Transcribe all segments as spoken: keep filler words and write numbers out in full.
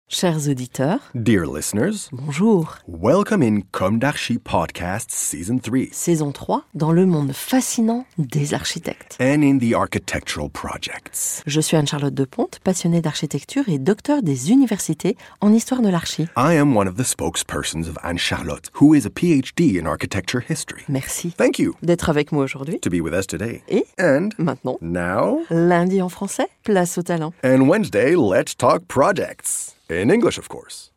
Chers auditeurs, Dear listeners, bonjour. welcome in Comme d'Archi Podcast Season three Saison trois, dans le monde fascinant des architectes. and in the architectural projects. Je suis Anne-Charlotte Deponte, passionnée d'architecture et docteur des universités en histoire de l'archi. I am one of the spokespersons of Anne-Charlotte, who is a P H D in architecture history. Merci Thank you d'être avec moi aujourd'hui. to be with us today. Et And maintenant, now, lundi en français, place au talent. and Wednesday, let's talk projects. In English, of course.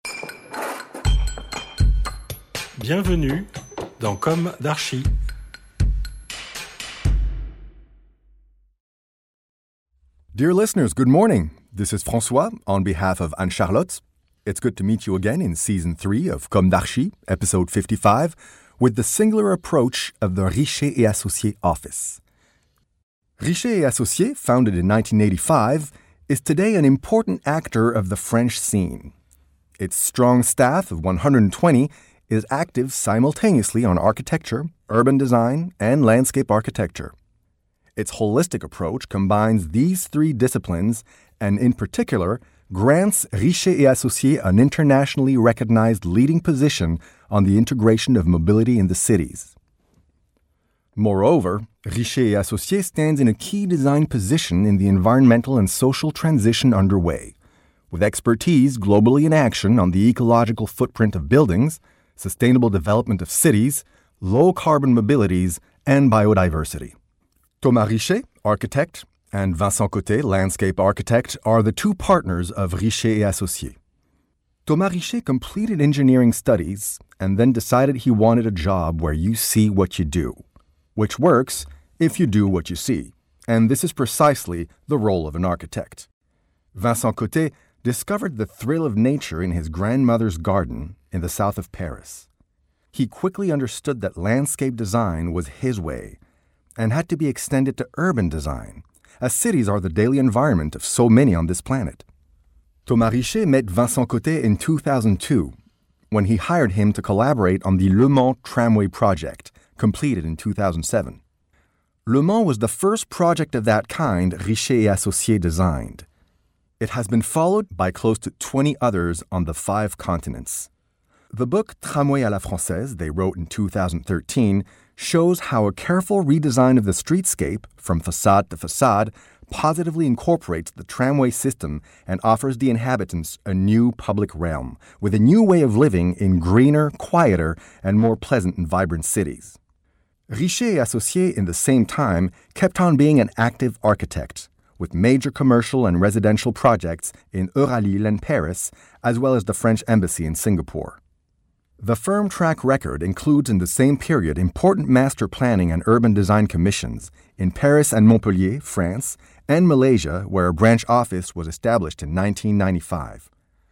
Bienvenue dans Comme d'Archi. Dear listeners, good morning. This is François on behalf of Anne-Charlotte. It's good to meet you again in Season three of Comme d'Archi, Episode fifty-five, with the singular approach of the Richer et Associés office. Richer et Associés, founded in nineteen eighty-five, is today an important actor of the French scene. Its strong staff of one hundred twenty is active simultaneously on architecture, urban design, and landscape architecture. Its holistic approach combines these three disciplines and, in particular, grants Richer et Associés an internationally recognized leading position on the integration of mobility in the cities. Moreover, Richer et Associés stands in a key design position in the environmental and social transition underway, with expertise globally in action on the ecological footprint of buildings, sustainable development of cities, low-carbon mobilities, and biodiversity. Thomas Richer, architect, and Vincent Côté, landscape architect, are the two partners of Richer et Associés. Thomas Richer completed engineering studies and then decided he wanted a job where you see what you do, which works if you do what you see, and this is precisely the role of an architect. Vincent Côté discovered the thrill of nature in his grandmother's garden in the south of Paris. He quickly understood that landscape design was his way and had to be extended to urban design, as cities are the daily environment of so many on this planet. Thomas Richer met Vincent Côté in two thousand two when he hired him to collaborate on the Le Mans tramway project, completed in two thousand seven. Le Mans was the first project of that kind Richer et Associés designed. It has been followed by close to twenty others on the five continents. The book Tramway à la Française they wrote in two thousand thirteen shows how a careful redesign of the streetscape, from facade to facade, positively incorporates the tramway system and offers the inhabitants a new public realm, with a new way of living in greener, quieter, and more pleasant and vibrant cities. Richer et Associés, in the same time, kept on being an active architect, with major commercial and residential projects in Euralille and Paris, as well as the French Embassy in Singapore. The firm track record includes in the same period important master planning and urban design commissions in Paris and Montpellier, France, and Malaysia, where a branch office was established in nineteen ninety-five.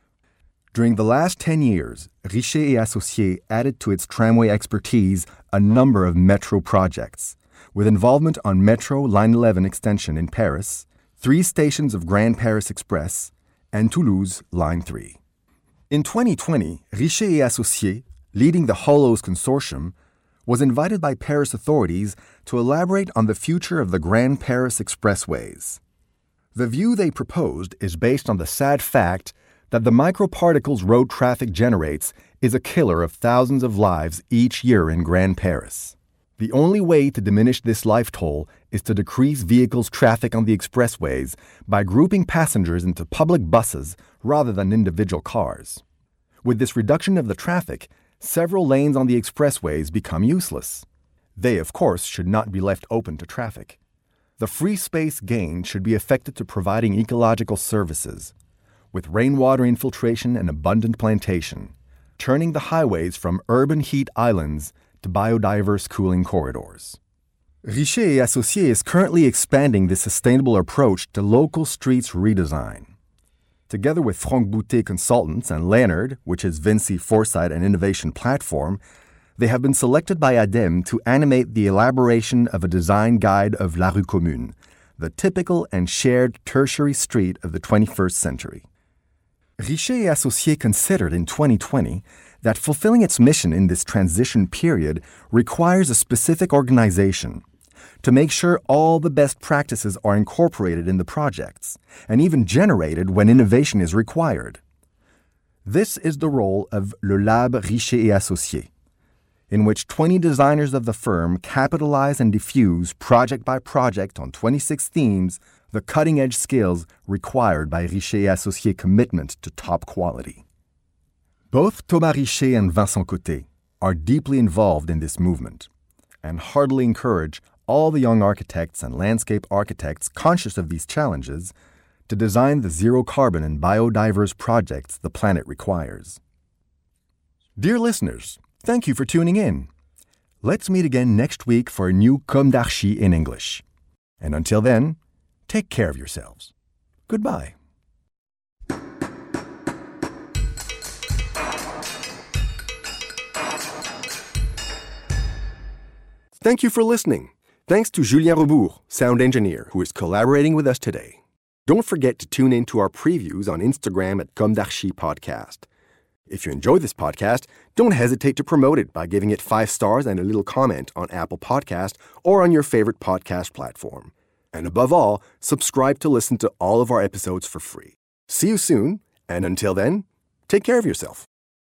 During the last ten years, Richer et Associés added to its tramway expertise a number of metro projects, with involvement on Metro Line eleven extension in Paris, three stations of Grand Paris Express, and Toulouse Line three. In twenty twenty, Richer et Associés, leading the Hollows Consortium, was invited by Paris authorities to elaborate on the future of the Grand Paris Expressways. The view they proposed is based on the sad fact that the microparticles road traffic generates is a killer of thousands of lives each year in Grand Paris. The only way to diminish this life toll is to decrease vehicles' traffic on the expressways by grouping passengers into public buses rather than individual cars. With this reduction of the traffic, several lanes on the expressways become useless. They, of course, should not be left open to traffic. The free space gained should be affected to providing ecological services, with rainwater infiltration and abundant plantation, turning the highways from urban heat islands to biodiverse cooling corridors. Richer et Associés is currently expanding this sustainable approach to local streets redesign. Together with Franck Boutet Consultants and Leonard, which is Vinci Foresight and Innovation Platform, they have been selected by ADEME to animate the elaboration of a design guide of La Rue Commune, the typical and shared tertiary street of the twenty-first century. Richer et Associés considered in twenty twenty that fulfilling its mission in this transition period requires a specific organization to make sure all the best practices are incorporated in the projects and even generated when innovation is required. This is the role of Le Lab Richer et Associés, in which twenty designers of the firm capitalize and diffuse project by project on twenty-six themes the cutting-edge skills required by Richer et Associés' commitment to top quality. Both Thomas Richer and Vincent Côté are deeply involved in this movement and heartily encourage all the young architects and landscape architects conscious of these challenges to design the zero-carbon and biodiverse projects the planet requires. Dear listeners, thank you for tuning in. Let's meet again next week for a new Comme d'Archi in English. And until then, take care of yourselves. Goodbye. Thank you for listening. Thanks to Julien Rebourg, sound engineer, who is collaborating with us today. Don't forget to tune in to our previews on Instagram at Comme d'Archi Podcast. If you enjoy this podcast, don't hesitate to promote it by giving it five stars and a little comment on Apple Podcast or on your favorite podcast platform. And above all, subscribe to listen to all of our episodes for free. See you soon, and until then, take care of yourself.